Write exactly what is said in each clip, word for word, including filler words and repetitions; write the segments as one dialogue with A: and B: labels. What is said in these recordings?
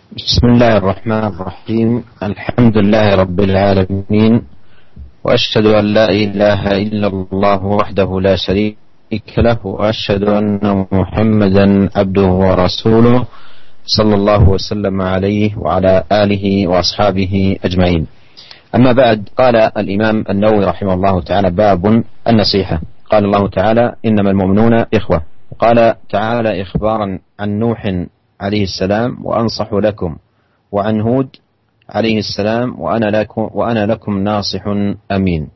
A: بسم الله الرحمن الرحيم. الحمد لله رب العالمين، وأشهد أن لا إله إلا الله وحده لا شريك له، وأشهد أن محمدا عبده ورسوله صلى الله وسلم عليه وعلى آله وأصحابه أجمعين. أما بعد، قال الإمام النووي رحمه الله تعالى: باب النصيحة. قال الله تعالى: إنما المؤمنون إخوة. وقال تعالى إخبارا عن نوح عليه السلام: وأنصح لكم، وعن هود عليه السلام: وأنا لكم, وأنا لكم ناصح أمين.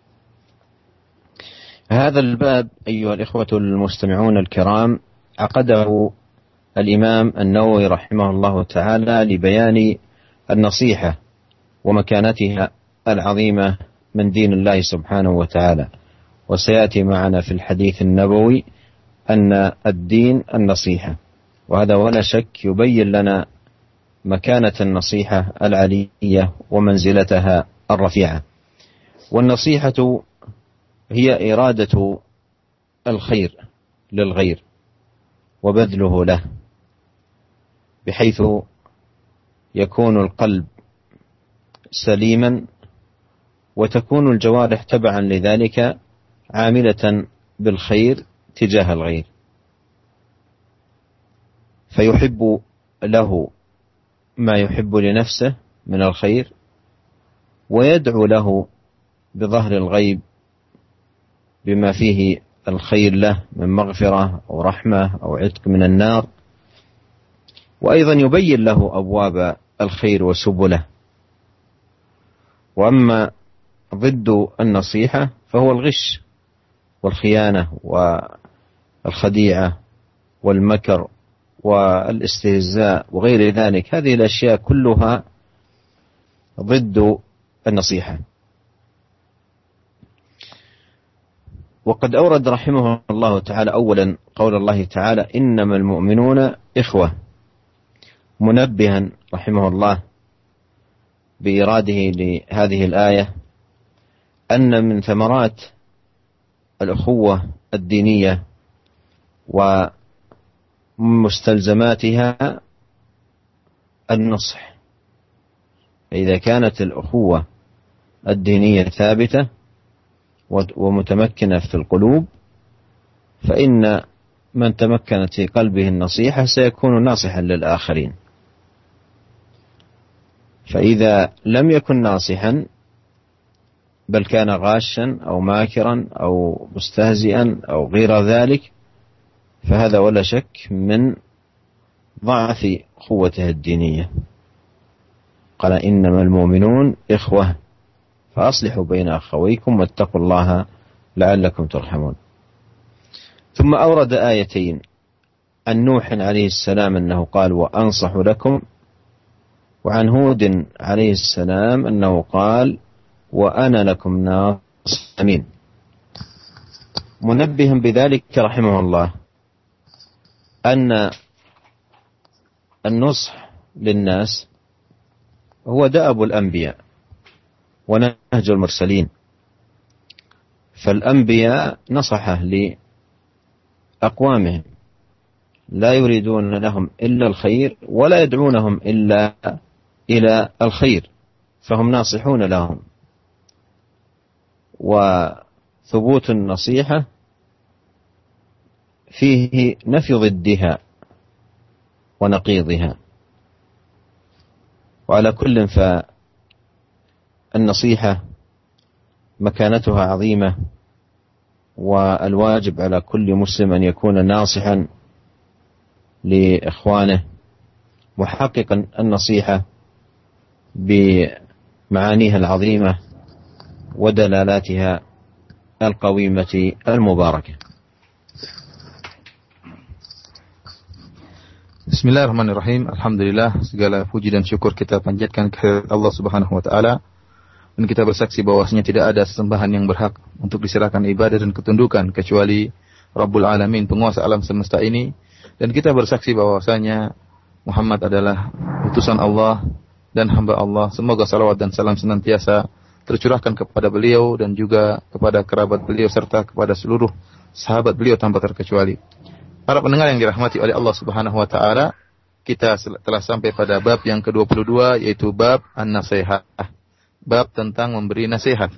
A: هذا الباب أيها الإخوة المستمعون الكرام عقده الإمام النووي رحمه الله تعالى لبيان النصيحة ومكانتها العظيمة من دين الله سبحانه وتعالى. وسيأتي معنا في الحديث النبوي أن الدين النصيحة، وهذا ولا شك يبين لنا مكانة النصيحة العلية ومنزلتها الرفيعة. والنصيحة هي إرادة الخير للغير وبذله له، بحيث يكون القلب سليما وتكون الجوارح تبعا لذلك عاملة بالخير تجاه الغير، فيحب له ما يحب لنفسه من الخير، ويدعو له بظهر الغيب بما فيه الخير له من مغفرة أو رحمة أو عتق من النار، وأيضا يبين له أبواب الخير وسبله. وأما ضد النصيحة فهو الغش والخيانة والخديعة والمكر والاستهزاء وغير ذلك. هذه الأشياء كلها ضد النصيحة. وقد أورد رحمه الله تعالى أولا قول الله تعالى: إنما المؤمنون إخوة، منبها رحمه الله بإراده لهذه الآية أن من ثمرات الأخوة الدينية ومستلزماتها النصح. فإذا كانت الأخوة الدينية ثابتة ومتمكنة في القلوب، فإن من تمكنت في قلبه النصيحة سيكون ناصحا للآخرين. فإذا لم يكن ناصحا بل كان غاشا أو ماكرا أو مستهزئا أو غير ذلك، فهذا ولا شك من ضعف قوته الدينية. قال: إنما المؤمنون إخوة فأصلحوا بين أخويكم واتقوا الله لعلكم ترحمون. ثم أورد آيتين عن نوح عليه السلام أنه قال: وأنصح لكم، وعن هود عليه السلام أنه قال: وأنا لكم ناصح أمين، منبها بذلك رحمه الله أن النصح للناس هو دأب الأنبياء ونهج المرسلين. فالأنبياء نصحه لأقوامهم، لا يريدون لهم إلا الخير ولا يدعونهم إلا إلى الخير، فهم ناصحون لهم. وثبوت النصيحة فيه نفي ضدها ونقيضها. وعلى كل فالنصيحة مكانتها عظيمة، والواجب على كل مسلم أن يكون ناصحا لإخوانه، محققا النصيحة بمعانيها العظيمة ودلالاتها القويمة المباركة.
B: Bismillahirrahmanirrahim. Alhamdulillah, segala puji dan syukur kita panjatkan ke Allah Subhanahu wa taala, dan kita bersaksi bahwasanya tidak ada sesembahan yang berhak untuk diserahkan ibadah dan ketundukan kecuali Rabbul Alamin, penguasa alam semesta ini. Dan kita bersaksi bahwasanya Muhammad adalah utusan Allah dan hamba Allah. Semoga salawat dan salam senantiasa tercurahkan kepada beliau dan juga kepada kerabat beliau serta kepada seluruh sahabat beliau tanpa terkecuali. Para pendengar yang dirahmati oleh Allah Subhanahu wa taala, kita telah sampai pada bab yang ke dua puluh dua, yaitu bab an-nasihah. Bab tentang memberi nasihat.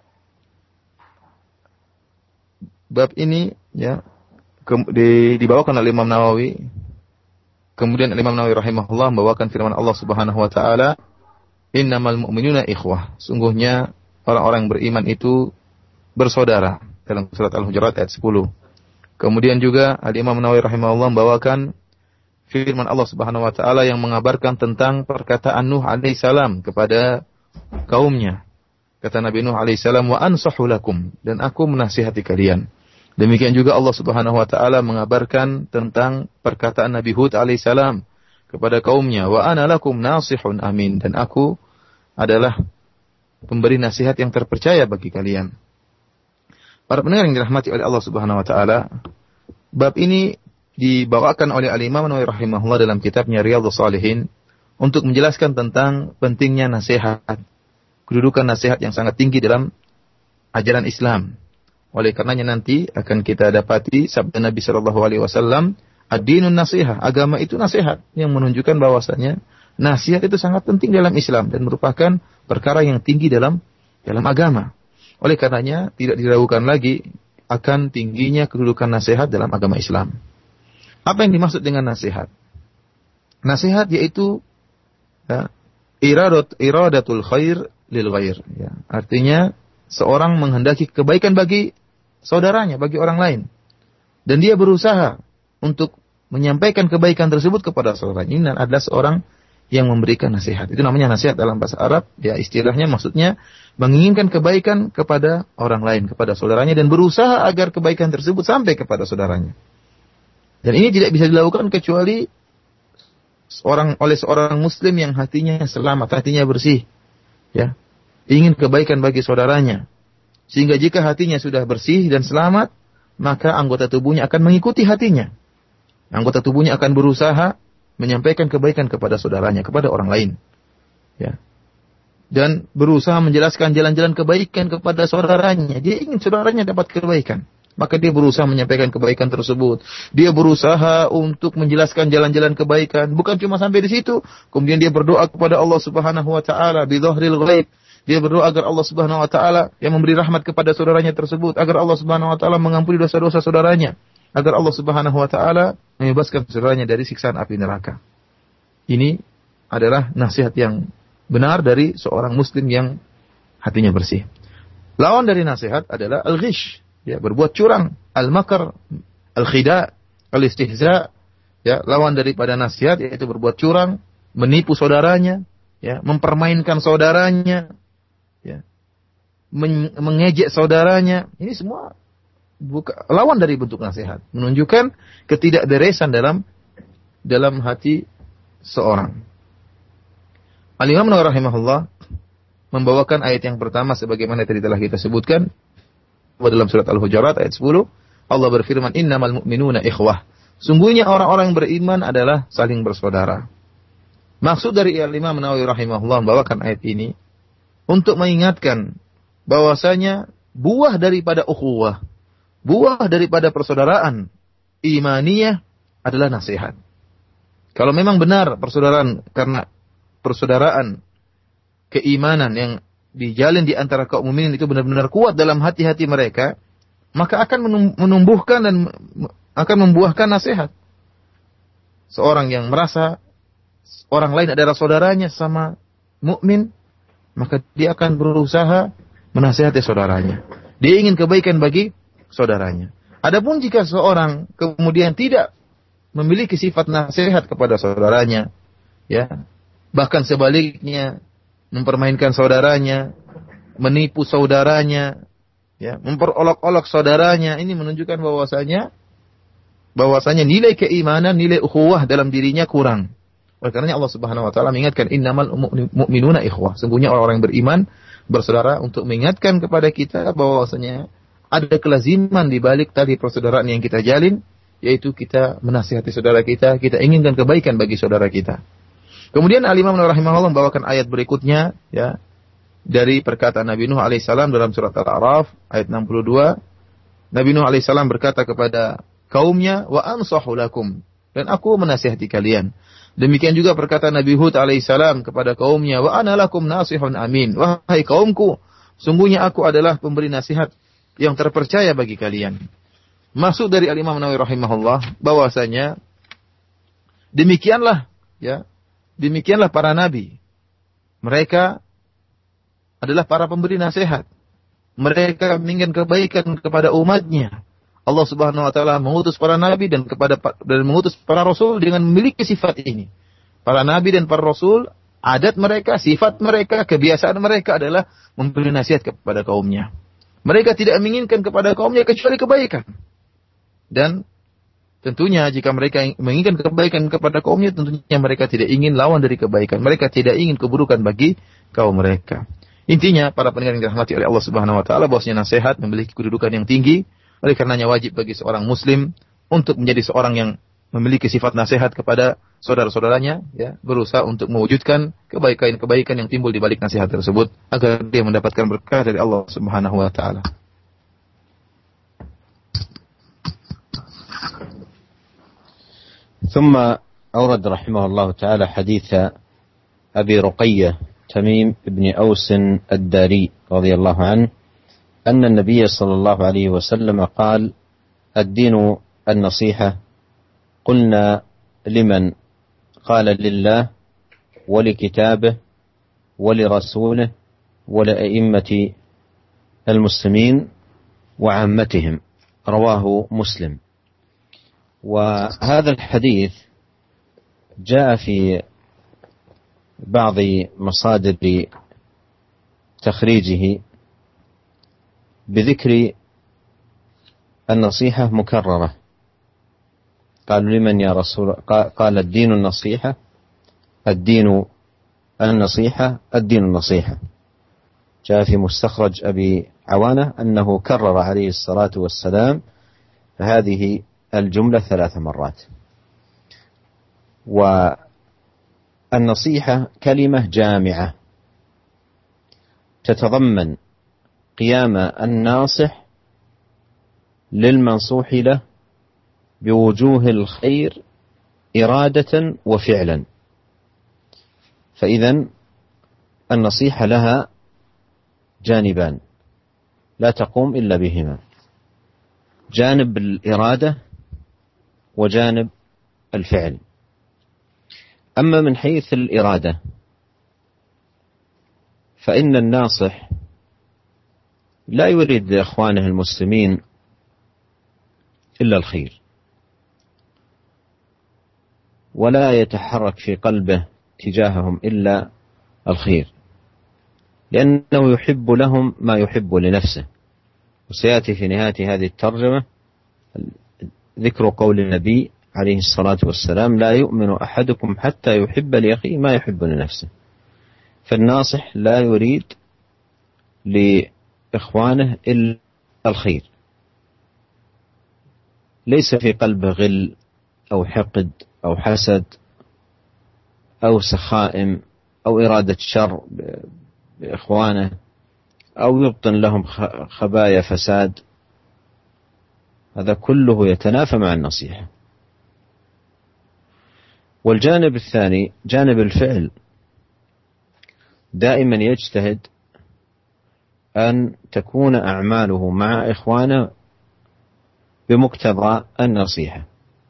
B: Bab ini ya ke, di, dibawakan oleh Imam Nawawi. Kemudian Imam Nawawi rahimahullah membawakan firman Allah Subhanahu wa taala, "Innamal mu'minuna ikhwah." Sungguhnya orang-orang yang beriman itu bersaudara, dalam surat Al-Hujurat ayat sepuluh. Kemudian juga Al-Imam Nawawi rahimahullah membawakan firman Allah Subhanahu wa taala yang mengabarkan tentang perkataan Nuh alaihi salam kepada kaumnya. Kata Nabi Nuh alaihi salam, "Wa ansahu lakum," dan aku menasihati kalian. Demikian juga Allah Subhanahu wa taala mengabarkan tentang perkataan Nabi Hud alaihi salam kepada kaumnya, "Wa ana lakum nasihun amin," dan aku adalah pemberi nasihat yang terpercaya bagi kalian. Para pendengar yang dirahmati oleh Allah Subhanahu wa taala, bab ini dibawakan oleh Al-Imam Nawawi rahimahullah dalam kitabnya Riyadhus Shalihin untuk menjelaskan tentang pentingnya nasihat, kedudukan nasihat yang sangat tinggi dalam ajaran Islam. Oleh karenanya nanti akan kita dapati sabda Nabi sallallahu alaihi wasallam, "Ad-dinun nasihah," agama itu nasihat, yang menunjukkan bahwasanya nasihat itu sangat penting dalam Islam dan merupakan perkara yang tinggi dalam dalam agama. Oleh karenanya tidak diragukan lagi akan tingginya kedudukan nasihat dalam agama Islam. Apa yang dimaksud dengan nasihat? Nasihat yaitu ya, iradat iradatul khair lil ghair, ya. Artinya seorang menghendaki kebaikan bagi saudaranya, bagi orang lain. Dan dia berusaha untuk menyampaikan kebaikan tersebut kepada saudaranya. Ini adalah seorang yang memberikan nasihat. Itu namanya nasihat dalam bahasa Arab. Ya, istilahnya maksudnya menginginkan kebaikan kepada orang lain, kepada saudaranya, dan berusaha agar kebaikan tersebut sampai kepada saudaranya. Dan ini tidak bisa dilakukan kecuali seorang oleh seorang muslim yang hatinya selamat, hatinya bersih. Ya, ingin kebaikan bagi saudaranya. Sehingga jika hatinya sudah bersih dan selamat, maka anggota tubuhnya akan mengikuti hatinya. Anggota tubuhnya akan berusaha menyampaikan kebaikan kepada saudaranya, kepada orang lain. Ya. Dan berusaha menjelaskan jalan-jalan kebaikan kepada saudaranya. Dia ingin saudaranya dapat kebaikan. Maka dia berusaha menyampaikan kebaikan tersebut. Dia berusaha untuk menjelaskan jalan-jalan kebaikan. Bukan cuma sampai di situ. Kemudian dia berdoa kepada Allah Subhanahu wa taala bi dhahril ghaib. Dia berdoa agar Allah Subhanahu wa taala yang memberi rahmat kepada saudaranya tersebut, agar Allah Subhanahu wa taala mengampuni dosa-dosa saudaranya, agar Allah Subhanahu wa taala membebaskan saudaranya dari siksaan api neraka. Ini adalah nasihat yang benar dari seorang muslim yang hatinya bersih. Lawan dari nasihat adalah al-ghish, ya, berbuat curang, al-makar, al-khida, al-istihza, ya, lawan daripada nasihat yaitu berbuat curang, menipu saudaranya, ya, mempermainkan saudaranya, ya, mengejek saudaranya. Ini semua buka, lawan dari bentuk nasihat, menunjukkan ketidakberesan dalam dalam hati seorang. Al-Imam Nawawi rahimahullah membawakan ayat yang pertama sebagaimana tadi telah kita sebutkan dalam surat Al-Hujurat ayat sepuluh. Allah berfirman, "Innamal mu'minuna ikhwah." Sungguhnya orang-orang yang beriman adalah saling bersaudara. Maksud dari Al-Imam Nawawi rahimahullah membawakan ayat ini untuk mengingatkan bahwasanya buah daripada ukhuwah, buah daripada persaudaraan imaniyah adalah nasihat. Kalau memang benar persaudaraan karena persaudaraan keimanan yang dijalin di antara kaum mukminin itu benar-benar kuat dalam hati-hati mereka, maka akan menumbuhkan dan akan membuahkan nasihat. Seorang yang merasa orang lain adalah saudaranya sama mukmin, maka dia akan berusaha menasihati saudaranya. Dia ingin kebaikan bagi saudaranya. Adapun jika seorang kemudian tidak memiliki sifat nasihat kepada saudaranya, ya, bahkan sebaliknya mempermainkan saudaranya, menipu saudaranya, ya, memperolok-olok saudaranya, ini menunjukkan bahwasanya bahwasanya nilai keimanan, nilai ukhuwah dalam dirinya kurang. Oleh karenanya Allah Subhanahu wa taala mengingatkan innamal mu'minuna ikhwah. Sungguhnya orang-orang yang beriman bersaudara, untuk mengingatkan kepada kita bahwasanya ada kelaziman di balik tali persaudaraan yang kita jalin, yaitu kita menasihati saudara kita, kita inginkan kebaikan bagi saudara kita. Kemudian Al-Imam Nawawi rahimahullah membawakan ayat berikutnya, ya, dari perkataan Nabi Nuh alaihissalam dalam surat Al-A'raf ayat enam puluh dua. Nabi Nuh alaihissalam berkata kepada kaumnya, "Wa ansahu lakum," dan aku menasihati kalian. Demikian juga perkataan Nabi Hud alaihissalam kepada kaumnya, wa ana lakum nasihun amin. Wahai kaumku, sungguhnya aku adalah pemberi nasihat yang terpercaya bagi kalian. Maksud dari Al-Imam Nawawi rahimahullah bahwasanya demikianlah ya, demikianlah para nabi. Mereka adalah para pemberi nasihat. Mereka menginginkan kebaikan kepada umatnya. Allah Subhanahu wa taala mengutus para nabi dan kepada dan mengutus para rasul dengan memiliki sifat ini. Para nabi dan para rasul, adat mereka, sifat mereka, kebiasaan mereka adalah memberi nasihat kepada kaumnya. Mereka tidak menginginkan kepada kaumnya kecuali kebaikan. Dan tentunya jika mereka menginginkan kebaikan kepada kaumnya, tentunya mereka tidak ingin lawan dari kebaikan. Mereka tidak ingin keburukan bagi kaum mereka. Intinya, para pendengar yang dirahmati oleh Allah Subhanahu wa taala, bahwasanya nasihat memiliki kedudukan yang tinggi. Oleh karenanya wajib bagi seorang muslim untuk menjadi seorang yang memiliki sifat nasihat kepada saudara-saudaranya, ya, berusaha untuk mewujudkan kebaikan-kebaikan yang timbul di balik nasihat tersebut agar dia mendapatkan berkah dari Allah Subhanahu wa taala.
A: ثم أورد رحمه الله تعالى حديث أبي رقية تميم بن أوس الداري رضي الله عنه أن النبي صلى الله عليه وسلم قال: الدين النصيحة. قلنا: لمن؟ قال: لله ولكتابه ولرسوله ولأئمة المسلمين وعامتهم. رواه مسلم. وهذا الحديث جاء في بعض مصادر تخريجه بذكر النصيحة مكررة. قالوا: لمن يا رسول؟ قال: الدين النصيحة، الدين النصيحة، الدين النصيحة. جاء في مستخرج أبي عوانة أنه كرر عليه الصلاة والسلام هذه الجملة ثلاث مرات. والنصيحة كلمة جامعة تتضمن قيام الناصح للمنصوح له بوجوه الخير إرادة وفعلا. فإذن النصيحة لها جانبان لا تقوم إلا بهما: جانب الإرادة وجانب الفعل. أما من حيث الإرادة فإن الناصح لا يريد لإخوانه المسلمين إلا الخير، ولا يتحرك في قلبه تجاههم إلا الخير، لأنه يحب لهم ما يحب لنفسه. وسيأتي في نهاية هذه الترجمة ذكر قول النبي عليه الصلاة والسلام: لا يؤمن أحدكم حتى يحب لأخيه ما يحب لنفسه. فالناصح لا يريد لإخوانه إلا الخير، ليس في قلبه غل أو حقد أو حسد أو سخائم أو إرادة شر بإخوانه أو يبطن لهم خبايا فساد. هذا كله يتنافى مع النصيحة. والجانب الثاني جانب الفعل، دائما يجتهد أن تكون أعماله مع إخوانه بمقتضى النصيحة،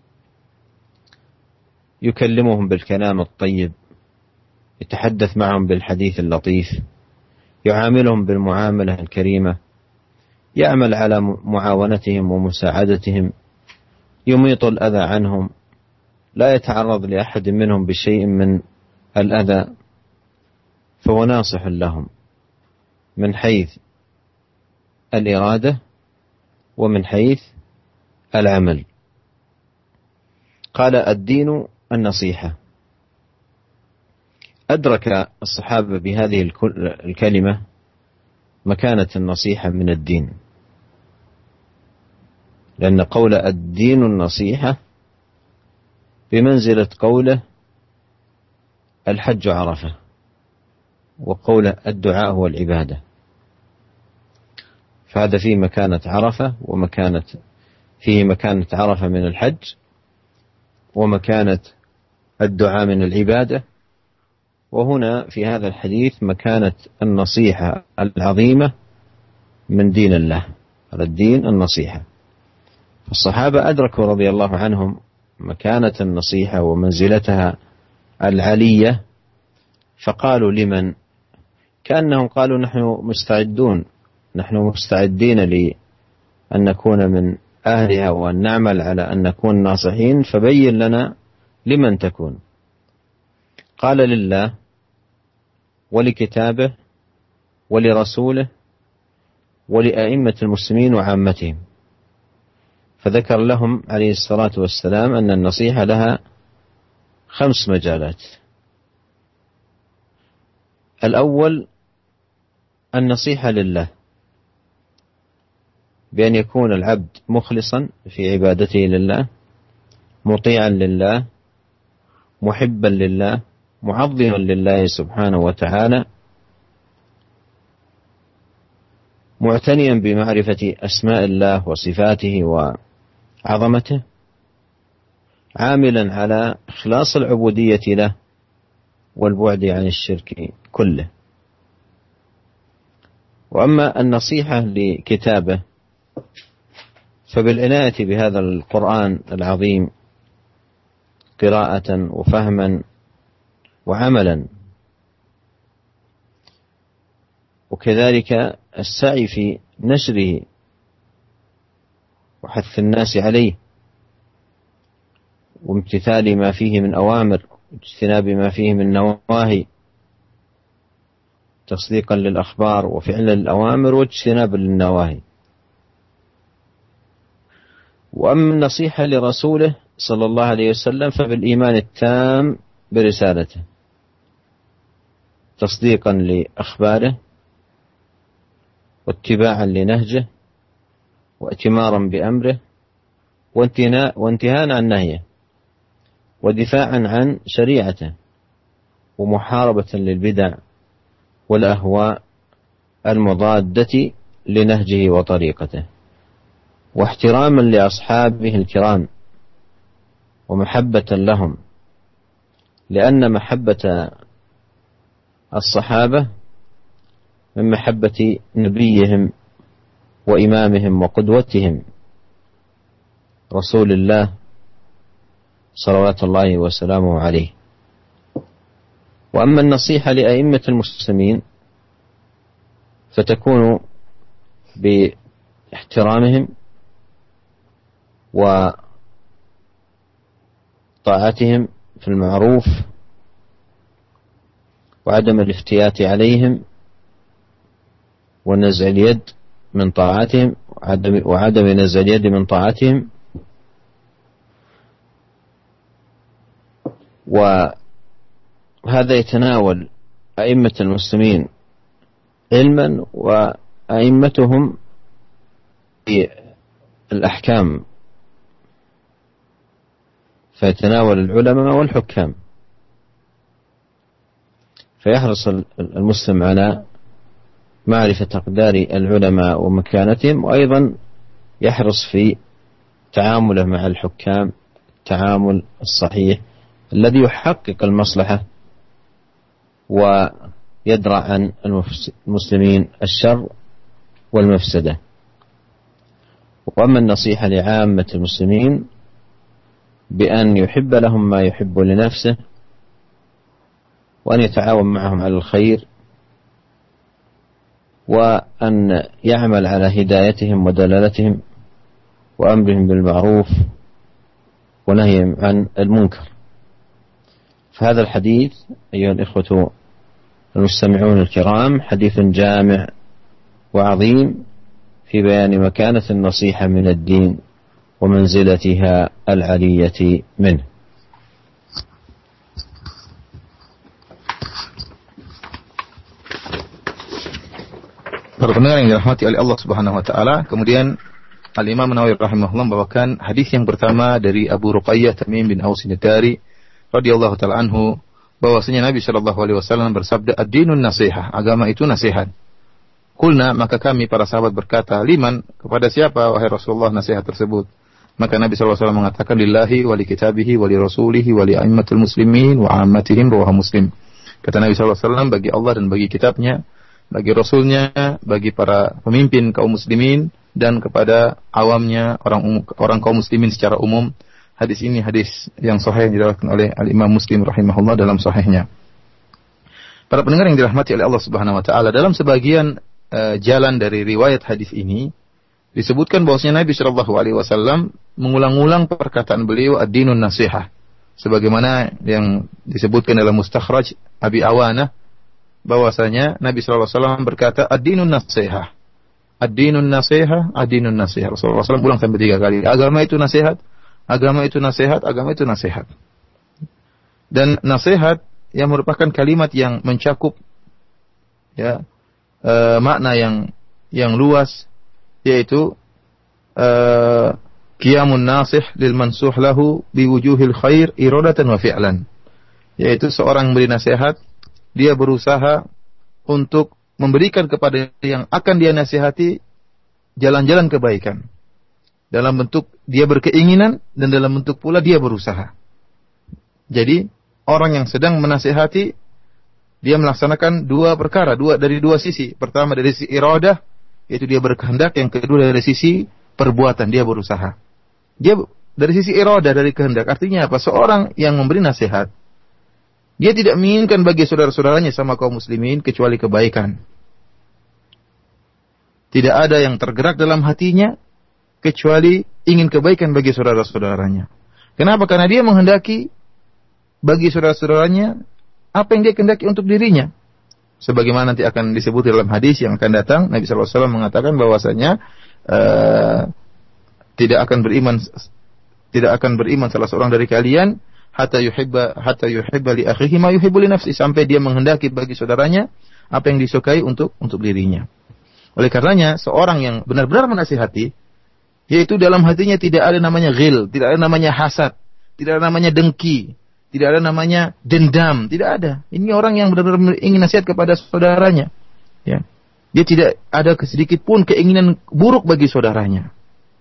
A: يكلمهم بالكلام الطيب، يتحدث معهم بالحديث اللطيف، يعاملهم بالمعاملة الكريمة، يعمل على معاونتهم ومساعدتهم، يميط الأذى عنهم، لا يتعرض لأحد منهم بشيء من الأذى، فهو ناصح لهم من حيث الإرادة ومن حيث العمل. قال: الدين النصيحة. أدرك الصحابة بهذه الكلمة مكانة النصيحة من الدين، لأن قول الدين النصيحة بمنزلة قوله الحج عرفة، وقول الدعاء هو العبادة. فهذا فيه مكانة عرفة، ومكانة فيه مكانة عرفة من الحج، ومكانة الدعاء من العبادة. وهنا في هذا الحديث مكانة النصيحة العظيمة من دين الله، على الدين النصيحة. الصحابة أدركوا رضي الله عنهم مكانة النصيحة ومنزلتها العلية، فقالوا لمن؟ كأنهم قالوا نحن مستعدون، نحن مستعدين لأن نكون من أهلها وأن نعمل على أن نكون ناصحين، فبين لنا لمن تكون. قال لله ولكتابه ولرسوله ولأئمة المسلمين وعامتهم. فذكر لهم عليه الصلاة والسلام أن النصيحة لها خمس مجالات. الأول النصيحة لله، بأن يكون العبد مخلصا في عبادته لله، مطيعا لله، محبا لله، معظما لله سبحانه وتعالى، معتنيا بمعرفة أسماء الله وصفاته وعظمته، عاملا على إخلاص العبودية له والبعد عن الشرك كله. وأما النصيحة لكتابه فبالعناية بهذا القرآن العظيم قراءة وفهما وعملا، وكذلك السعي في نشره وحث الناس عليه، وامتثال ما فيه من أوامر واجتناب ما فيه من نواهي، تصديقا للأخبار وفعلا للأوامر واجتنابا للنواهي. وأما النصيحة لرسوله صلى الله عليه وسلم فبالإيمان التام برسالته، تصديقا لأخباره واتباعا لنهجه واتمارا بأمره وانتهاء عن نهيه ودفاعا عن شريعته ومحاربة للبدع والأهواء المضادة لنهجه وطريقته، واحتراما لأصحابه الكرام ومحبة لهم، لأن محبة الصحابة من محبة نبيهم وإمامهم وقدوتهم رسول الله صلوات الله وسلامه عليه. وأما النصيحة لأئمة المسلمين فتكون باحترامهم وطاعتهم في المعروف وعدم الافتيات عليهم ونزع اليد من طاعتهم وعدم, وعدم نزع اليد من طاعتهم. وهذا يتناول أئمة المسلمين علما وأئمتهم في الأحكام، فيتناول العلماء والحكام، فيحرص المسلم على معرفة أقدار العلماء ومكانتهم، وأيضا يحرص في تعامله مع الحكام التعامل الصحيح الذي يحقق المصلحة ويدرع عن المسلمين الشر والمفسدة. وأما النصيحة لعامة المسلمين بأن يحب لهم ما يحب لنفسه، وأن يتعاون معهم على الخير، وأن يعمل على هدايتهم ودلالتهم وأمرهم بالمعروف ونهيهم عن المنكر. فهذا الحديث أيها الإخوة المستمعون الكرام حديث جامع وعظيم في بيان مكانة النصيحة من الدين ومنزلتها العلية منه.
B: Para pendengar yang dirahmati oleh Allah Subhanahu wa taala, kemudian Al-Imam Nawawi rahimahullah membawakan hadis yang pertama dari Abu Ruqayyah Tamim bin Aus An-Nitari radhiyallahu taala anhu, bahwasanya Nabi sallallahu alaihi wasallam bersabda, "Ad-dinun nasihah," agama itu nasihat. Qulna, maka kami para sahabat berkata, "Liman?" kepada siapa wahai Rasulullah nasihat tersebut? Maka Nabi shallallahu alaihi wasallam mengatakan lillahi wa li kitabihi wa li rasulihi wa li a'immatil muslimin wa 'ammatihim rawahu Muslim. Kata Nabi shallallahu alaihi wasallam, bagi Allah dan bagi kitabnya, bagi rasulnya, bagi para pemimpin kaum muslimin dan kepada awamnya, orang umum, orang kaum muslimin secara umum. Hadis ini hadis yang sahih yang diriwayatkan oleh Al-Imam Muslim rahimahullah dalam sahihnya. Para pendengar yang dirahmati oleh Allah Subhanahu wa taala, dalam sebagian uh, jalan dari riwayat hadis ini disebutkan bahwasanya Nabi sallallahu alaihi wasallam mengulang-ulang perkataan beliau ad-dinun nasihah, sebagaimana yang disebutkan dalam Mustakhraj Abi Awanah, bahwasanya Nabi sallallahu alaihi wasallam berkata ad-dinun nasihah, ad-dinun nasihah, ad-dinun nasihah. Rasulullah sallallahu alaihi wasallam ulang sampai tiga kali. Agama itu nasihat, agama itu nasihat, agama itu nasihat. Dan nasihat yang merupakan kalimat yang mencakup ya e, makna yang yang luas, yaitu uh, qiyamun nasih lil mansuh lahu biwujuhil khair iradatan wa fi'lan, yaitu seorang memberi nasihat, dia berusaha untuk memberikan kepada yang akan dia nasihati jalan-jalan kebaikan, dalam bentuk dia berkeinginan dan dalam bentuk pula dia berusaha. Jadi orang yang sedang menasihati, dia melaksanakan dua perkara, dua dari dua sisi. Pertama dari sisi iradah, yaitu dia berkehendak. Yang kedua dari sisi perbuatan, dia berusaha. Dia dari sisi iradah, dari kehendak. Artinya apa? Seorang yang memberi nasihat, dia tidak menginginkan bagi saudara-saudaranya sama kaum muslimin kecuali kebaikan. Tidak ada yang tergerak dalam hatinya kecuali ingin kebaikan bagi saudara-saudaranya. Kenapa? Karena dia menghendaki bagi saudara-saudaranya apa yang dia kehendaki untuk dirinya. Sebagaimana nanti akan disebut dalam hadis yang akan datang, Nabi sallallahu alaihi wasallam mengatakan bahwasanya uh, tidak akan beriman tidak akan beriman salah seorang dari kalian hatta yuhibba hatta yuhibba li akhihi ma yuhibbu li nafsihi, sampai dia menghendaki bagi saudaranya apa yang disukai untuk untuk dirinya. Oleh karenanya seorang yang benar-benar menasihati, yaitu dalam hatinya tidak ada namanya ghil, tidak ada namanya hasad, tidak ada namanya dengki, tidak ada namanya dendam, tidak ada. Ini orang yang benar-benar ingin nasihat kepada saudaranya. Ya. Dia tidak ada sedikit pun keinginan buruk bagi saudaranya.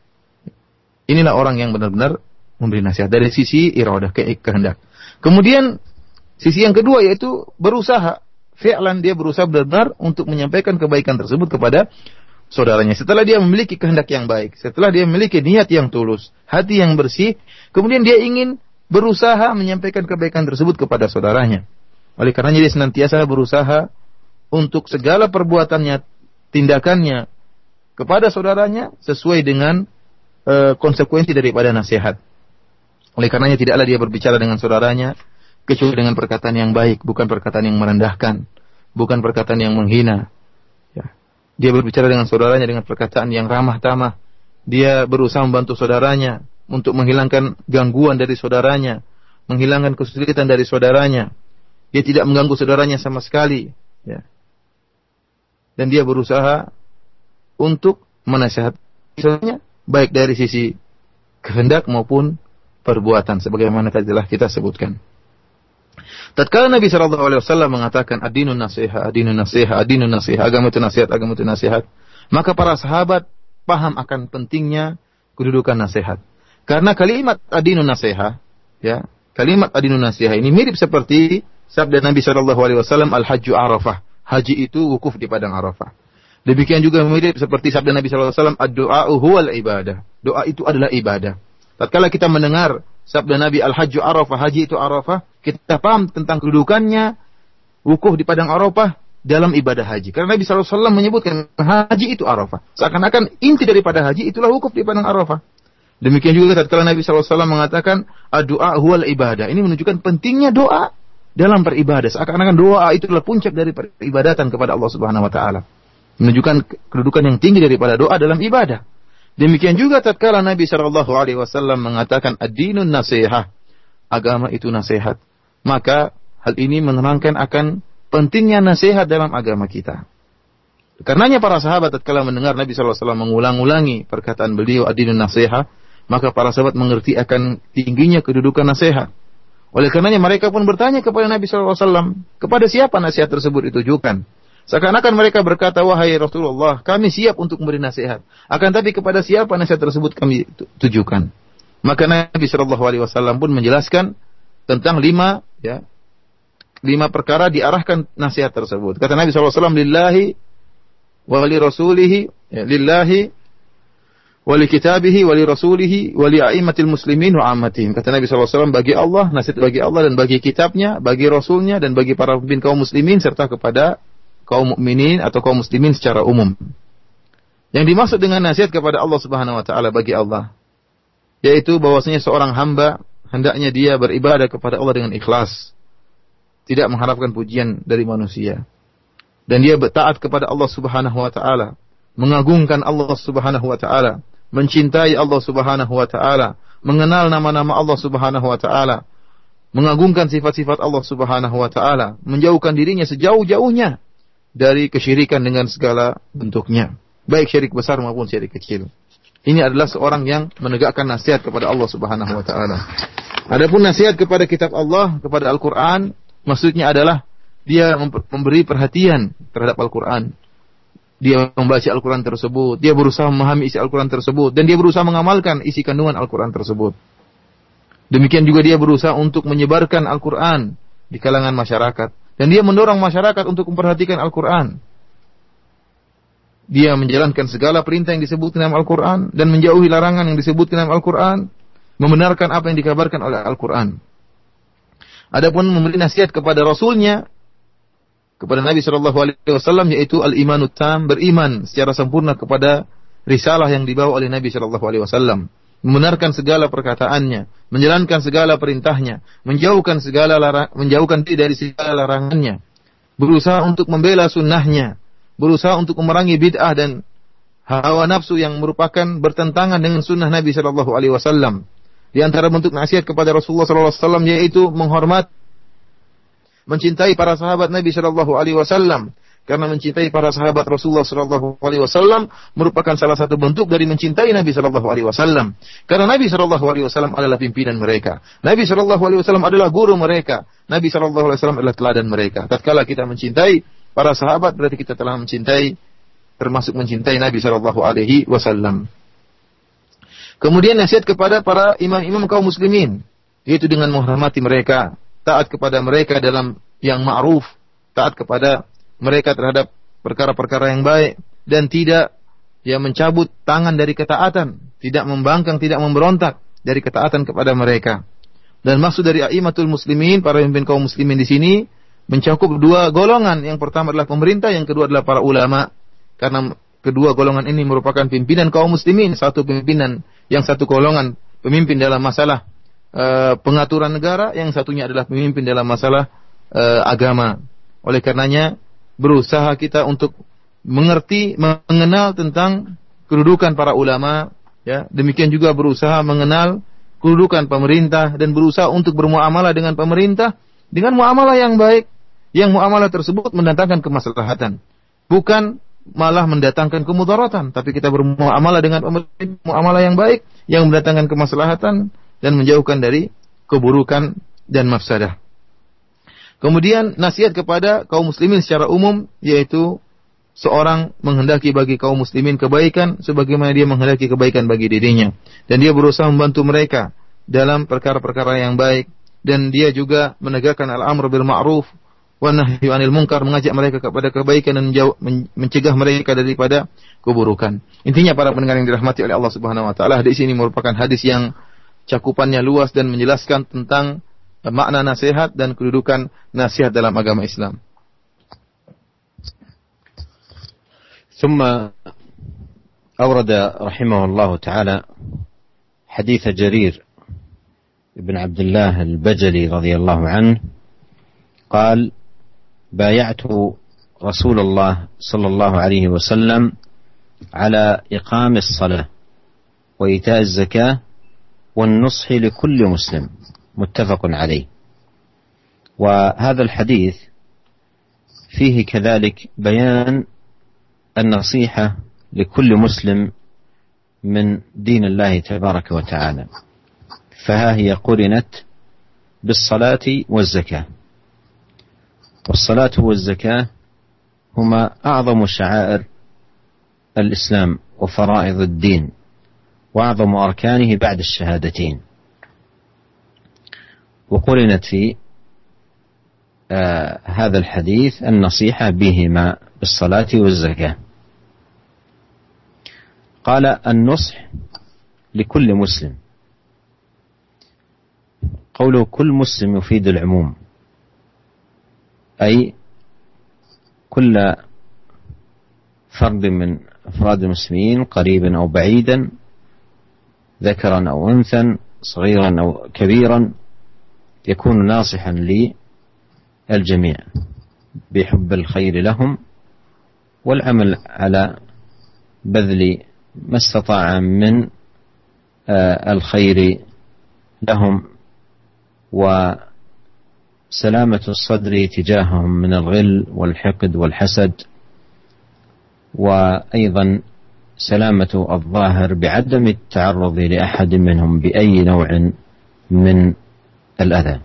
B: Inilah orang yang benar-benar memberi nasihat dari sisi iradah, ke- kehendak. Kemudian sisi yang kedua yaitu berusaha. Fi'lan, dia berusaha benar-benar untuk menyampaikan kebaikan tersebut kepada saudaranya. Setelah dia memiliki kehendak yang baik, setelah dia memiliki niat yang tulus, hati yang bersih, kemudian dia ingin berusaha menyampaikan kebaikan tersebut kepada saudaranya. Oleh karenanya dia senantiasa berusaha untuk segala perbuatannya, tindakannya kepada saudaranya sesuai dengan e, konsekuensi daripada nasihat. Oleh karenanya tidaklah dia berbicara dengan saudaranya kecuali dengan perkataan yang baik, bukan perkataan yang merendahkan, bukan perkataan yang menghina. Ya. Dia berbicara dengan saudaranya dengan perkataan yang ramah tamah. Dia berusaha membantu saudaranya untuk menghilangkan gangguan dari saudaranya, menghilangkan kesulitan dari saudaranya. Dia tidak mengganggu saudaranya sama sekali, ya. Dan dia berusaha untuk menasihatinya baik dari sisi kehendak maupun perbuatan, sebagaimana telah kita sebutkan. Tatkala Nabi sallallahu alaihi wasallam mengatakan ad-dinun nasiha, ad-dinun nasiha, ad-dinun nasiha, agama itu nasihat, agama itu nasihat, maka para sahabat paham akan pentingnya kedudukan nasihat. Karena kalimat ad-dinun nasiha, ya, kalimat ad-dinun nasiha ini mirip seperti sabda Nabi sallallahu alaihi wasallam al-hajju arafah. Haji itu wukuf di padang Arafah. Demikian juga mirip seperti sabda Nabi sallallahu alaihi wasallam ad-du'a'u huwal ibadah. Doa itu adalah ibadah. Tatkala kita mendengar sabda Nabi al-hajju arafah, haji itu Arafah, kita paham tentang kedudukannya wukuf di padang Arafah dalam ibadah haji. Karena Nabi sallallahu alaihi wasallam menyebutkan haji itu Arafah. Seakan-akan inti daripada haji itulah wukuf di padang Arafah. Demikian juga tatkala Nabi sallallahu alaihi wasallam mengatakan ad-du'a huwal ibadah. Ini menunjukkan pentingnya doa dalam beribadah. Seakan-akan doa itu adalah puncak dari peribadatan kepada Allah Subhanahu wa taala. Menunjukkan kedudukan yang tinggi daripada doa dalam ibadah. Demikian juga tatkala Nabi sallallahu alaihi wasallam mengatakan ad-dinun nasihah, agama itu nasihat. Maka hal ini menerangkan akan pentingnya nasihat dalam agama kita. Karenanya para sahabat tatkala mendengar Nabi sallallahu alaihi wasallam mengulang-ulangi perkataan beliau ad-dinun nasihah, maka para sahabat mengerti akan tingginya kedudukan nasihat. Oleh karenanya mereka pun bertanya kepada Nabi sallallahu alaihi wasallam, kepada siapa nasihat tersebut ditujukan? Seakan-akan mereka berkata, wahai Rasulullah, kami siap untuk memberi nasihat. Akan tapi kepada siapa nasihat tersebut kami tujukan? Maka Nabi Shallallahu Alaihi Wasallam pun menjelaskan tentang lima, ya, lima perkara diarahkan nasihat tersebut. Kata Nabi Shallallahu Alaihi Wasallam, lillahi wa li rasulihi, ya, lillahi wa li kitabihi wa li rasulihi wa li a'immatil muslimin wa ammatihim. Kata Nabi Shallallahu Alaihi Wasallam, bagi Allah, nasihat bagi Allah dan bagi kitabnya, bagi rasulnya dan bagi para pemimpin kaum muslimin serta kepada kaum mukminin atau kaum muslimin secara umum. Yang dimaksud dengan nasihat kepada Allah Subhanahu wa taala bagi Allah, yaitu bahwasanya seorang hamba hendaknya dia beribadah kepada Allah dengan ikhlas, tidak mengharapkan pujian dari manusia. Dan dia bertaat kepada Allah Subhanahu wa taala, mengagungkan Allah Subhanahu wa taala, mencintai Allah Subhanahu wa taala, mengenal nama-nama Allah Subhanahu wa taala, mengagungkan sifat-sifat Allah Subhanahu wa taala, menjauhkan dirinya sejauh-jauhnya dari kesyirikan dengan segala bentuknya, baik syirik besar maupun syirik kecil. Ini adalah seorang yang menegakkan nasihat kepada Allah Subhanahu wa taala. Adapun nasihat kepada kitab Allah, kepada Al-Qur'an, maksudnya adalah dia memberi perhatian terhadap Al-Qur'an. Dia membaca Al-Qur'an tersebut, dia berusaha memahami isi Al-Qur'an tersebut, dan dia berusaha mengamalkan isi kandungan Al-Qur'an tersebut. Demikian juga dia berusaha untuk menyebarkan Al-Qur'an di kalangan masyarakat. Dan dia mendorong masyarakat untuk memperhatikan Al-Quran. Dia menjalankan segala perintah yang disebut dalam Al-Quran dan menjauhi larangan yang disebut dalam Al-Quran, membenarkan apa yang dikabarkan oleh Al-Quran. Adapun memberi nasihat kepada Rasulnya, kepada Nabi Shallallahu Alaihi Wasallam, yaitu al-imanut tam, beriman secara sempurna kepada risalah yang dibawa oleh Nabi Shallallahu Alaihi Wasallam, membenarkan segala perkataannya, menjalankan segala perintahnya, menjauhkan segala larang, menjauhkan diri dari segala larangannya, berusaha untuk membela sunnahnya, berusaha untuk memerangi bid'ah dan hawa nafsu yang merupakan bertentangan dengan sunnah Nabi Shallallahu Alaihi Wasallam. Di antara bentuk nasihat kepada Rasulullah Shallallahu Alaihi Wasallam yaitu menghormat, mencintai para sahabat Nabi Shallallahu Alaihi Wasallam. Karena mencintai para sahabat Rasulullah Shallallahu Alaihi Wasallam merupakan salah satu bentuk dari mencintai Nabi Shallallahu Alaihi Wasallam. Karena Nabi Shallallahu Alaihi Wasallam adalah pimpinan mereka. Nabi Shallallahu Alaihi Wasallam adalah guru mereka. Nabi Shallallahu Alaihi Wasallam adalah teladan mereka. Tatkala kita mencintai para sahabat, berarti kita telah mencintai, termasuk mencintai Nabi Shallallahu Alaihi Wasallam. Kemudian nasihat kepada para imam-imam kaum muslimin, yaitu dengan menghormati mereka, taat kepada mereka dalam yang ma'ruf, taat kepada mereka terhadap perkara-perkara yang baik, dan tidak ya mencabut tangan dari ketaatan, tidak membangkang, tidak memberontak dari ketaatan kepada mereka. Dan maksud dari a'immatul muslimin, para pemimpin kaum muslimin di sini mencakup dua golongan. Yang pertama adalah pemerintah, yang kedua adalah para ulama. Karena kedua golongan ini merupakan pimpinan kaum muslimin, satu pimpinan, yang satu golongan pemimpin dalam masalah uh, pengaturan negara, yang satunya adalah pemimpin dalam masalah uh, agama. Oleh karenanya berusaha kita untuk mengerti, mengenal tentang kedudukan para ulama, ya. Demikian juga berusaha mengenal kedudukan pemerintah dan berusaha untuk bermuamalah dengan pemerintah dengan muamalah yang baik, yang muamalah tersebut mendatangkan kemaslahatan, bukan malah mendatangkan kemudaratan. Tapi kita bermuamalah dengan pemerintah, muamalah yang baik yang mendatangkan kemaslahatan dan menjauhkan dari keburukan dan mafsadah. Kemudian nasihat kepada kaum muslimin secara umum, yaitu seorang menghendaki bagi kaum muslimin kebaikan sebagaimana dia menghendaki kebaikan bagi dirinya, dan dia berusaha membantu mereka dalam perkara-perkara yang baik, dan dia juga menegakkan al-amr bil ma'ruf wan nahyi 'anil munkar, mengajak mereka kepada kebaikan dan mencegah mereka daripada keburukan. Intinya para pendengar yang dirahmati oleh Allah Subhanahu wa taala, hadis ini merupakan hadis yang cakupannya luas dan menjelaskan tentang makna nasihat dan kedudukan nasihat dalam agama Islam.
A: ثم أورد رحمه الله تعالى حديث جرير بن عبد الله البجلي رضي الله عنه قال: بايعت رسول الله صلى الله عليه وسلم على إقام الصلاة وإيتاء الزكاة والنصح لكل مسلم، متفق عليه. وهذا الحديث فيه كذلك بيان النصيحة لكل مسلم من دين الله تبارك وتعالى، فها هي قرنت بالصلاة والزكاة. والصلاة والزكاة هما أعظم شعائر الإسلام وفرائض الدين، وأعظم أركانه بعد الشهادتين، وقرنت في آه هذا الحديث النصيحة بهما بالصلاة والزكاة. قال النصح لكل مسلم، قوله كل مسلم يفيد العموم، أي كل فرد من أفراد المسلمين قريبا أو بعيدا، ذكرا أو أنثى، صغيرا أو كبيرا، يكون ناصحا للجميع بحب الخير لهم والعمل على بذل ما استطاع من الخير لهم، وسلامة الصدر تجاههم من الغل والحقد والحسد، وأيضا سلامة الظاهر بعدم التعرض لأحد منهم بأي نوع من الأذى.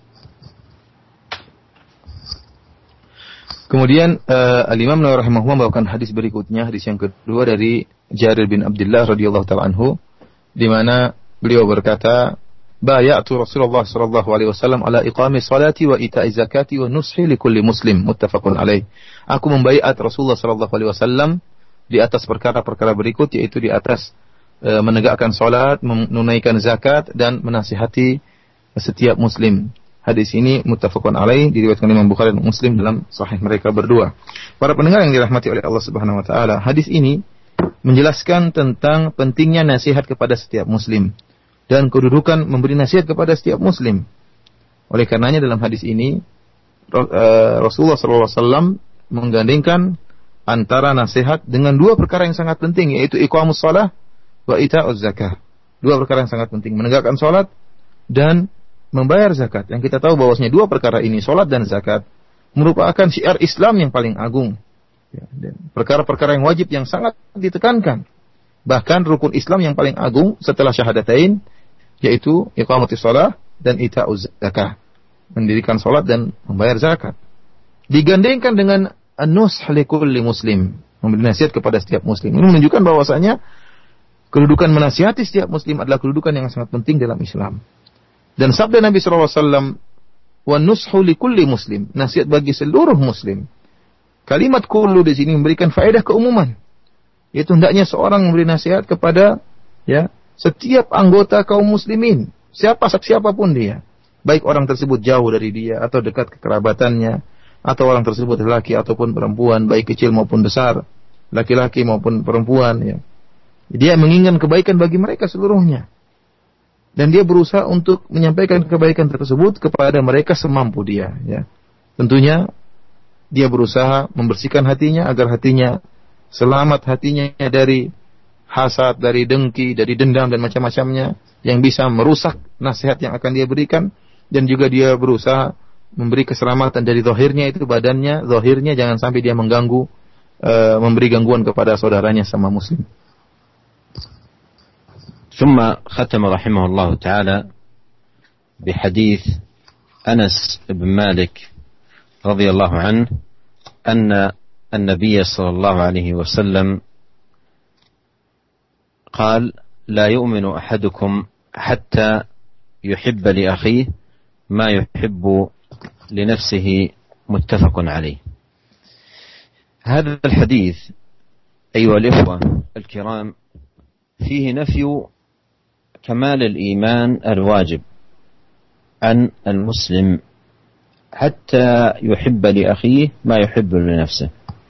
B: Kemudian uh, Al-Imam Nawawi rahimahullah membawakan hadis berikutnya, hadis yang kedua dari Jarir bin Abdullah radhiyallahu ta'ala anhu, di mana beliau berkata, "Bay'atu Rasulullah sallallahu alaihi wasallam ala iqami salati wa ita'i zakati wa nushi li kulli muslim." Muttafaqun alaih. Aku membaiat Rasulullah sallallahu alaihi wasallam di atas perkara-perkara berikut, yaitu di atas uh, menegakkan salat, menunaikan zakat, dan menasihati setiap muslim. Hadis ini muttafaqun alaih, diriwayatkan Imam Bukhari dan Muslim dalam sahih mereka berdua. Para pendengar yang dirahmati oleh Allah Subhanahu wa taala, hadis ini menjelaskan tentang pentingnya nasihat kepada setiap muslim dan kedudukan memberi nasihat kepada setiap muslim. Oleh karenanya dalam hadis ini Rasulullah sallallahu alaihi wasallam menggandengkan antara nasihat dengan dua perkara yang sangat penting, yaitu iqamus shalah wa ita'uz zakah. Dua perkara yang sangat penting, menegakkan salat dan membayar zakat. Yang kita tahu bahwasanya dua perkara ini, salat dan zakat, merupakan syiar Islam yang paling agung. Ya, dan perkara-perkara yang wajib yang sangat ditekankan. Bahkan rukun Islam yang paling agung setelah syahadatain, yaitu iqamatus shalah dan ita'uz zakah, mendirikan salat dan membayar zakat. Digandengkan dengan an-nush li kulli muslim, memberi nasihat kepada setiap muslim. Ini menunjukkan bahwasanya kedudukan menasihati setiap muslim adalah kedudukan yang sangat penting dalam Islam. Dan sabda Nabi sallallahu alaihi wasallam, "Wa nushu li kulli muslim," nasihat bagi seluruh muslim. Kalimat kullu di sini memberikan faedah keumuman. Yaitu hendaknya seorang memberi nasihat kepada ya setiap anggota kaum muslimin, siapa siapapun dia. Baik orang tersebut jauh dari dia atau dekat kekerabatannya, atau orang tersebut laki ataupun perempuan, baik kecil maupun besar, laki-laki maupun perempuan ya. Dia menginginkan kebaikan bagi mereka seluruhnya. Dan dia berusaha untuk menyampaikan kebaikan tersebut kepada mereka semampu dia. Ya. Tentunya dia berusaha membersihkan hatinya agar hatinya selamat, hatinya dari hasad, dari dengki, dari dendam dan macam-macamnya yang bisa merusak nasihat yang akan dia berikan. Dan juga dia berusaha memberi keselamatan dari zahirnya, itu badannya, zahirnya jangan sampai dia mengganggu, uh, memberi gangguan kepada saudaranya sama muslim.
A: ثم ختم رحمه الله تعالى بحديث أنس بن مالك رضي الله عنه أن النبي صلى الله عليه وسلم قال: لا يؤمن أحدكم حتى يحب لأخيه ما يحب لنفسه. متفق عليه. هذا الحديث أيها الإخوة الكرام فيه نفي كمال الإيمان الواجب عن المسلم حتى يحب لأخيه ما يحب لنفسه،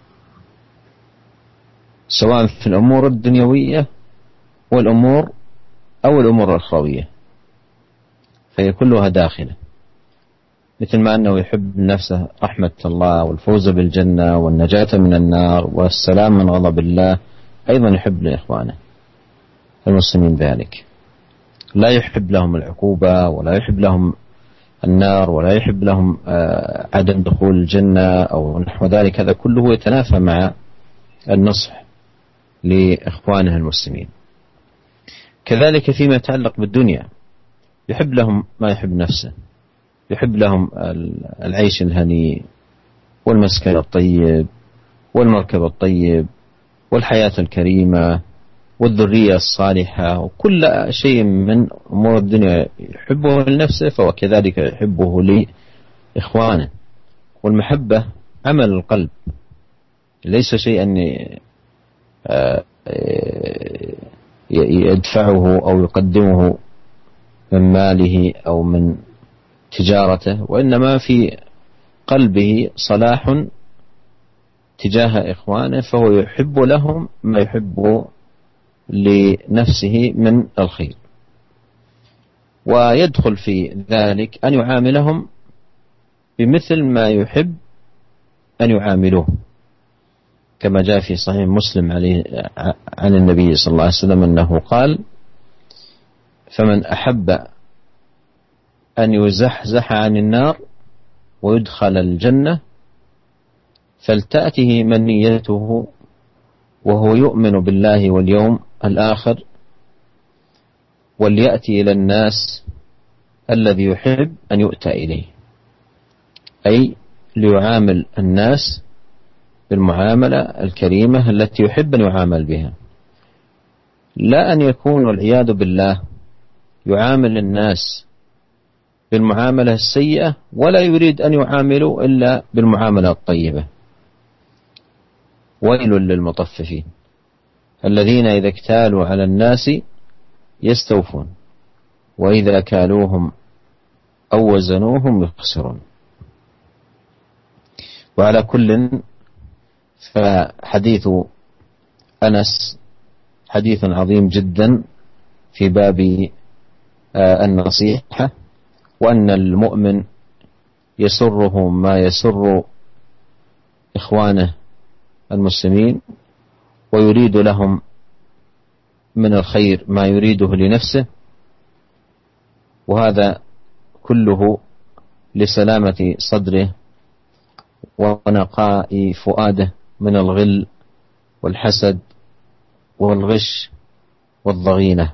A: سواء في الأمور الدنيوية والأمور أو الأمور الأخروية، فهي كلها داخلة، مثل ما أنه يحب نفسه رحمة الله والفوز بالجنة والنجاة من النار والسلام من غضب الله، أيضا يحب لإخوانه المسلمين ذلك، لا يحب لهم العقوبة ولا يحب لهم النار ولا يحب لهم عدم دخول الجنة أو نحو ذلك. هذا كله يتنافى مع النصح لإخوانه المسلمين. كذلك فيما يتعلق بالدنيا يحب لهم ما يحب نفسه، يحب لهم العيش الهنيء والمسكن الطيب والمركب الطيب والحياة الكريمة والذرية الصالحة وكل شيء من أمور الدنيا يحبه لنفسه فهو كذلك يحبه لإخوانه. والمحبة عمل القلب ليس شيئا يدفعه أو يقدمه من ماله أو من تجارته، وإنما في قلبه صلاح تجاه إخوانه فهو يحب لهم ما يحب لنفسه من الخير. ويدخل في ذلك أن يعاملهم بمثل ما يحب أن يعاملوه، كما جاء في صحيح مسلم عليه عن النبي صلى الله عليه وسلم أنه قال: فمن أحب أن يزحزح عن النار ويدخل الجنة فلتأته منيته وهو يؤمن بالله واليوم الآخر وليأتي إلى الناس الذي يحب أن يؤتى إليه، أي ليعامل الناس بالمعاملة الكريمة التي يحب أن يعامل بها، لا أن يكون والعياذ بالله يعامل الناس بالمعاملة السيئة ولا يريد أن يعاملوا إلا بالمعاملة الطيبة. ويل للمطففين الذين إذا اكتالوا على الناس يستوفون وإذا كالوهم أو وزنوهم يخسرون. وعلى كل فحديث أنس حديث عظيم جدا في باب النصيحة، وأن المؤمن يسره ما يسر إخوانه المسلمين ويريد لهم من الخير ما يريده لنفسه، وهذا كله لسلامة صدره ونقاء فؤاده من الغل والحسد والغش والضغينة،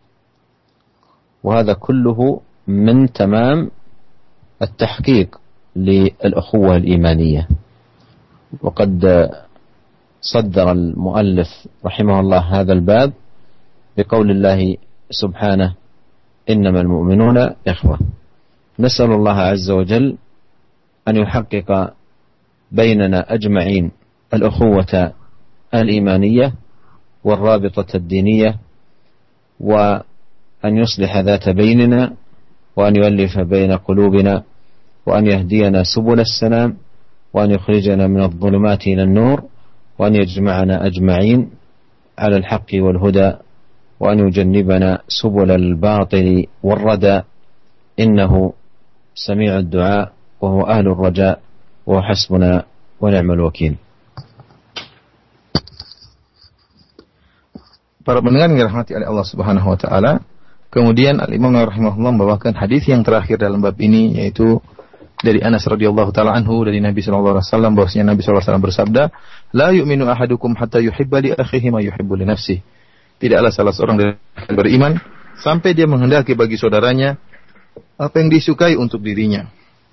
A: وهذا كله من تمام التحقيق للأخوة الإيمانية. وقد صدر المؤلف رحمه الله هذا الباب بقول الله سبحانه: إنما المؤمنون إخوة. نسأل الله عز وجل أن يحقق بيننا أجمعين الأخوة الإيمانية والرابطة الدينية، وأن يصلح ذات بيننا، وأن يؤلف بين قلوبنا، وأن يهدينا سبل السلام، وأن يخرجنا من الظلمات إلى النور، وأن يجمعنا أجمعين على الحق والهدى، وأن يجنبنا سبل الباطل والردى، إنه سميع الدعاء وهو أهل الرجاء وهو حسبنا ونعم الوكيل.
B: Para pendengar yang dirahmati oleh Allah Subhanahu wa taala, kemudian Al-Imam Nawawi rahimahullah membawakan hadis yang terakhir dalam bab ini, yaitu dari Anas radhiyallahu taala anhu dari Nabi sallallahu alaihi wasallam bahwasanya Nabi sallallahu alaihi wasallam bersabda, "La yu'minu ahadukum hatta yuhibba li akhihi ma yuhibbu li nafsihi." Tidaklah salah seorang dari kalian beriman sampai dia menghendaki bagi saudaranya apa yang disukai untuk dirinya.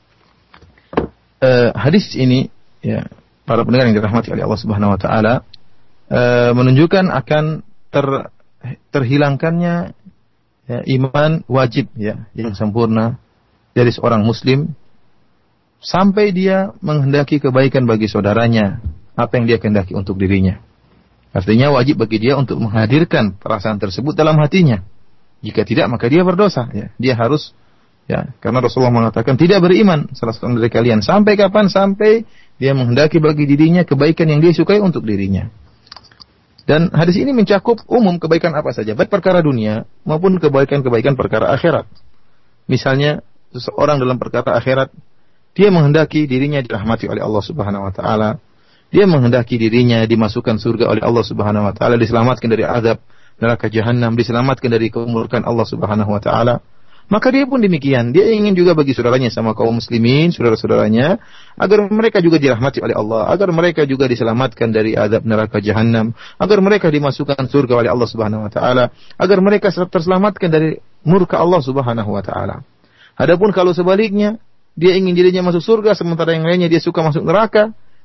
B: Uh, hadis ini, ya, para pendengar yang dirahmati oleh Allah Subhanahu wa taala, uh, menunjukkan akan ter, terhilangkannya ya, iman wajib ya yang sempurna dari seorang muslim sampai dia menghendaki kebaikan bagi saudaranya apa yang dia kehendaki untuk dirinya. Artinya wajib bagi dia untuk menghadirkan perasaan tersebut dalam hatinya. Jika tidak maka dia berdosa ya. Dia harus ya, karena Rasulullah mengatakan tidak beriman salah seorang dari kalian sampai kapan? Sampai dia menghendaki bagi dirinya kebaikan yang dia sukai untuk dirinya. Dan hadis ini mencakup umum kebaikan apa saja, baik perkara dunia maupun kebaikan-kebaikan perkara akhirat. Misalnya seseorang dalam perkara akhirat dia menghendaki dirinya dirahmati oleh Allah Subhanahu wa taala, dia menghendaki dirinya dimasukkan surga oleh Allah Subhanahu wa taala, diselamatkan dari azab neraka jahanam, diselamatkan dari kemurkaan Allah Subhanahu wa taala. Maka dia pun demikian, dia ingin juga bagi saudaranya sama kaum muslimin, saudara-saudaranya, agar mereka juga dirahmati oleh Allah, agar mereka juga diselamatkan dari azab neraka jahanam, agar mereka dimasukkan surga oleh Allah Subhanahu wa taala, agar mereka terselamatkan dari murka Allah Subhanahu wa taala. Adapun kalau sebaliknya, dia ingin dirinya masuk surga sementara yang lainnya dia suka masuk neraka,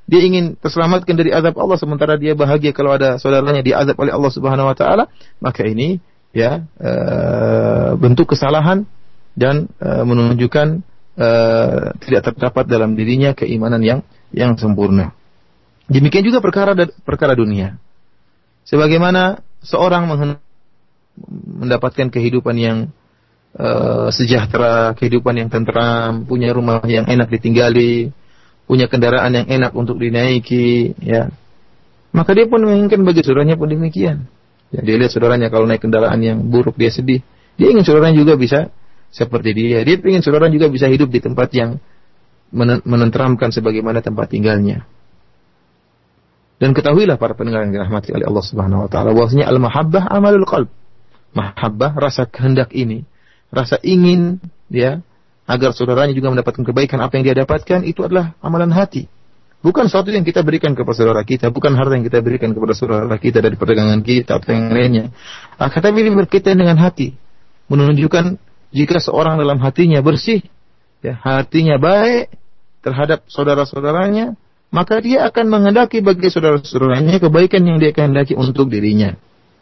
B: dia ingin terselamatkan dari azab Allah sementara dia bahagia kalau ada saudaranya diazab oleh Allah Subhanahu wa taala, maka ini ya e, bentuk kesalahan dan e, menunjukkan e, tidak terdapat dalam dirinya keimanan yang yang sempurna. Demikian juga perkara perkara dunia. Sebagaimana seorang mendapatkan kehidupan yang uh, sejahtera, kehidupan yang tentram, punya rumah yang enak ditinggali, punya kendaraan yang enak untuk dinaiki, ya. Maka dia pun menginginkan bagi saudaranya pun demikian. Ya, dia lihat saudaranya kalau naik kendaraan yang buruk dia sedih. Dia ingin saudaranya juga bisa seperti dia. Dia ingin saudaranya juga bisa hidup di tempat yang menenteramkan sebagaimana tempat tinggalnya. Dan ketahuilah para pendengar yang dirahmati oleh Allah Subhanahu wa taala bahwasanya al-mahabbah amalul qalb. Mahabbah, rasa kehendak ini, rasa ingin ya agar saudaranya juga mendapatkan kebaikan apa yang dia dapatkan, itu adalah amalan hati. Bukan sesuatu yang kita berikan kepada saudara kita, bukan harta yang kita berikan kepada saudara kita dari perdagangan kita atau yang lainnya. Akan tetapi ini berkaitan dengan hati, menunjukkan jika seorang dalam hatinya bersih, ya, hatinya baik terhadap saudara-saudaranya, maka dia akan menghendaki bagi saudara-saudaranya kebaikan yang dia kehendaki untuk dirinya.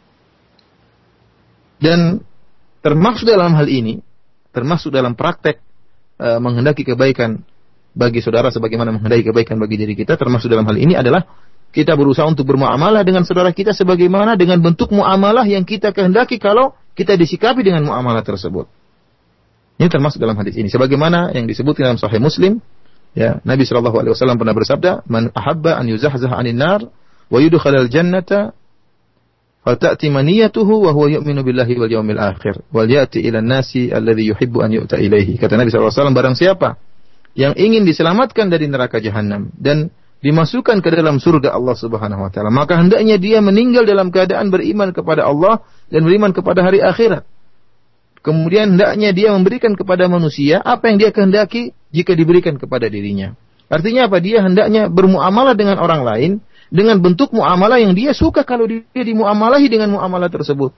B: Dan termasuk dalam hal ini, termasuk dalam praktek e, menghendaki kebaikan bagi saudara sebagaimana menghendaki kebaikan bagi diri kita, termasuk dalam hal ini adalah kita berusaha untuk bermuamalah dengan saudara kita sebagaimana dengan bentuk muamalah yang kita kehendaki kalau kita disikapi dengan muamalah tersebut. Ini termasuk dalam hadis ini. Sebagaimana yang disebutkan dalam Sahih Muslim, ya, Nabi shallallahu alaihi wasallam pernah bersabda, "Man ahabba an yuzahzah 'anil nar wa yudkhalal jannata fata'ti maniyatuhu wa huwa yu'minu billahi wal yawmil akhir wal ya'ti ila an-nasi alladhi yuhibbu an yu'ta ilaihi." Kata Nabi shallallahu alaihi wasallam, barang siapa yang ingin diselamatkan dari neraka jahanam dan dimasukkan ke dalam surga Allah Subhanahu wa taala, maka hendaknya dia meninggal dalam keadaan beriman kepada Allah dan beriman kepada hari akhirat. Kemudian hendaknya dia memberikan kepada manusia apa yang dia kehendaki jika diberikan kepada dirinya. Artinya apa? Dia hendaknya bermuamalah dengan orang lain dengan bentuk muamalah yang dia suka kalau dia dimuamalahi dengan muamalah tersebut.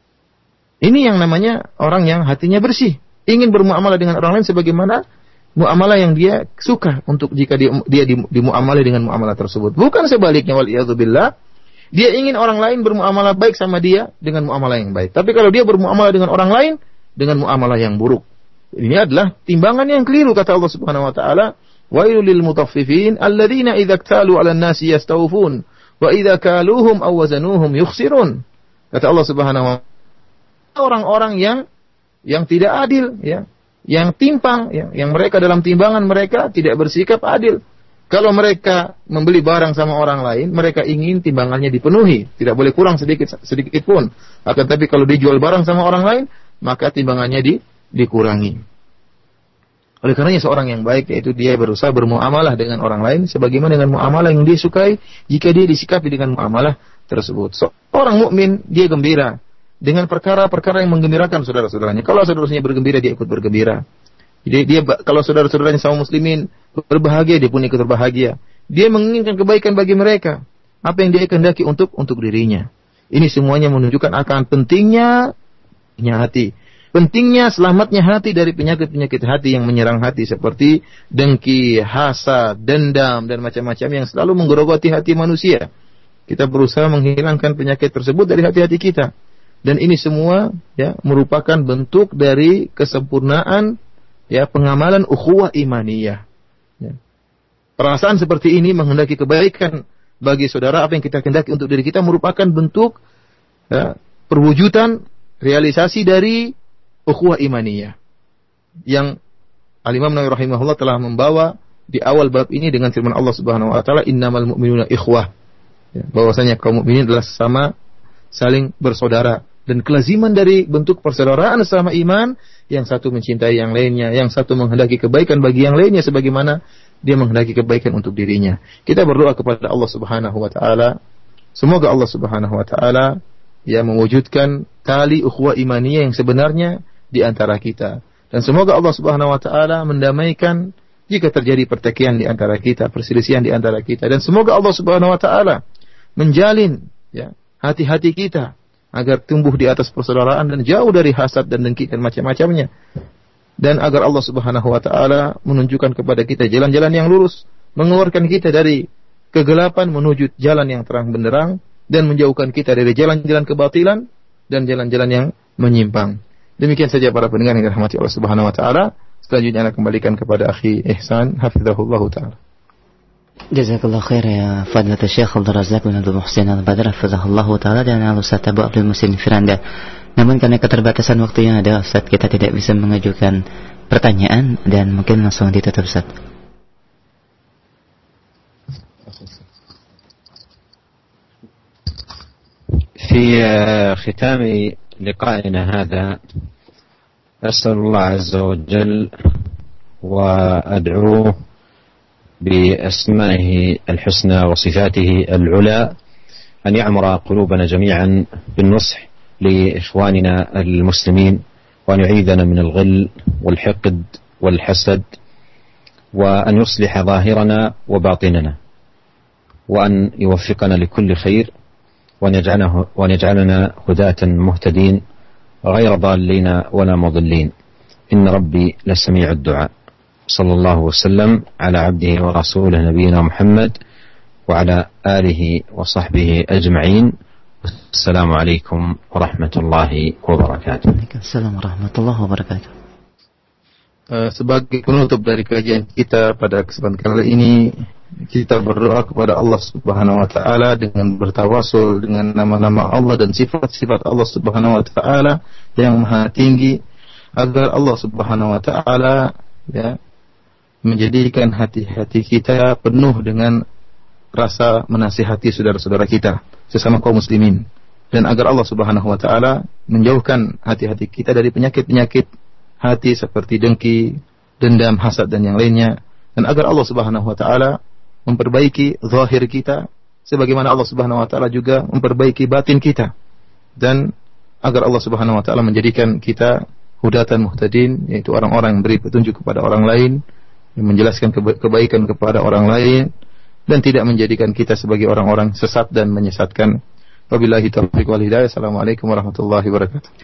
B: Ini yang namanya orang yang hatinya bersih, ingin bermuamalah dengan orang lain sebagaimana muamalah yang dia suka untuk jika dia, dia dimuamalahi dengan muamalah tersebut. Bukan sebaliknya, waliyadzubillah. Dia ingin orang lain bermuamalah baik sama dia dengan muamalah yang baik. Tapi kalau dia bermuamalah dengan orang lain dengan muamalah yang buruk, ini adalah timbangan yang keliru. Kata Allah Subhanahu wa taala, "Wailul lil mutaffifin alladzina idza iktalu 'alan nasi yastawfun wa idza kaluhum aw wazanuhum yukhsirun." Kata Allah Subhanahu wa taala, orang-orang yang yang tidak adil, ya, yang timpang, ya, yang mereka dalam timbangan mereka tidak bersikap adil. Kalau mereka membeli barang sama orang lain, mereka ingin timbangannya dipenuhi, tidak boleh kurang sedikit sedikit pun. Akan tapi kalau dijual barang sama orang lain, maka timbangannya di, dikurangi. Oleh karenanya seorang yang baik yaitu dia berusaha bermuamalah dengan orang lain sebagaimana dengan muamalah yang dia sukai jika dia disikapi dengan muamalah tersebut. Seorang mukmin dia gembira dengan perkara-perkara yang menggembirakan saudara-saudaranya. Kalau saudara-saudaranya bergembira, dia ikut bergembira. Dia, dia kalau saudara-saudaranya sama muslimin berbahagia, dia pun ikut berbahagia. Dia menginginkan kebaikan bagi mereka. Apa yang dia kehendaki untuk untuk dirinya. Ini semuanya menunjukkan akan pentingnya hati. Pentingnya selamatnya hati dari penyakit-penyakit hati yang menyerang hati seperti dengki, hasad, dendam dan macam-macam yang selalu menggerogoti hati manusia. Kita berusaha menghilangkan penyakit tersebut dari hati-hati kita. Dan ini semua ya merupakan bentuk dari kesempurnaan ya pengamalan ukhuwah imaniyah. Ya. Perasaan seperti ini menghendaki kebaikan bagi saudara, apa yang kita kehendaki untuk diri kita merupakan bentuk ya, perwujudan realisasi dari ukhuwah imaniyah. Yang Al-Imam Nawawi rahimahullah telah membawa di awal bab ini dengan firman Allah Subhanahu wa taala, "Innamal mu'minuna ikhwah." Ya, bahwasanya kaum mukminin adalah sama saling bersaudara. Dan kelaziman dari bentuk persaudaraan sama iman, yang satu mencintai yang lainnya, yang satu menghendaki kebaikan bagi yang lainnya sebagaimana dia menghendaki kebaikan untuk dirinya. Kita berdoa kepada Allah Subhanahu wa taala, semoga Allah Subhanahu wa taala ya mewujudkan tali ukhuwah imaniyah yang sebenarnya di antara kita. Dan semoga Allah Subhanahu wa taala mendamaikan jika terjadi pertikaian di antara kita, perselisihan di antara kita. Dan semoga Allah Subhanahu wa taala menjalin ya hati-hati kita agar tumbuh di atas persaudaraan dan jauh dari hasad dan dengki dan macam-macamnya. Dan agar Allah Subhanahu wa taala menunjukkan kepada kita jalan-jalan yang lurus, mengeluarkan kita dari kegelapan menuju jalan yang terang benderang dan menjauhkan kita dari jalan-jalan kebatilan dan jalan-jalan yang menyimpang. Demikian saja para pendengar yang dirahmati Allah Subhanahu wa taala. Selanjutnya saya kembalikan kepada akhi Ihsan hafizahullah taala.
C: Jazakallah khair ya Fadilatul Syekh Abdul Razak bin Abdul Muhsin Al-Badr hafizahullah taala dan Al-Ustaz Abu Abdul Muhsin Firanda. Namun karena keterbatasan waktu yang ada, Ustaz, kita tidak bisa mengajukan pertanyaan dan mungkin langsung ditutup, Ustaz.
A: في ختام لقائنا هذا أسأل الله عز وجل وأدعوه بأسمائه الحسنى وصفاته العلى أن يعمر قلوبنا جميعا بالنصح لإخواننا المسلمين وأن يعيذنا من الغل والحقد والحسد وأن يصلح ظاهرنا وباطننا وأن يوفقنا لكل خير وأن يجعله وأن يجعلنا هداة مهتدين غير ضالين ولا مضلين. إن ربي لسميع الدعاء. صلى الله وسلم على عبده ورسوله نبينا محمد وعلى آله وصحبه أجمعين. السلام عليكم ورحمة الله وبركاته.
C: Waalaikumsalam warahmatullahi wabarakatuh.
B: Uh, sebagai penutup dari kajian kita pada kesempatan kali ini, kita berdoa kepada Allah Subhanahu wa taala dengan bertawasul dengan nama-nama Allah dan sifat-sifat Allah Subhanahu wa taala yang maha tinggi, agar Allah Subhanahu wa taala ya menjadikan hati-hati kita penuh dengan rasa menasihati saudara-saudara kita sesama kaum muslimin, dan agar Allah Subhanahu wa taala menjauhkan hati-hati kita dari penyakit-penyakit hati seperti dengki, dendam, hasad dan yang lainnya, dan agar Allah Subhanahu wa taala memperbaiki zahir kita sebagaimana Allah Subhanahu wa taala juga memperbaiki batin kita, dan agar Allah Subhanahu wa taala menjadikan kita hudatan muhtadin, yaitu orang-orang yang beri petunjuk kepada orang lain, yang menjelaskan keba- kebaikan kepada orang lain, dan tidak menjadikan kita sebagai orang-orang sesat dan menyesatkan. Wabillahi taufiq wal hidayah. Assalamualaikum warahmatullahi wabarakatuh.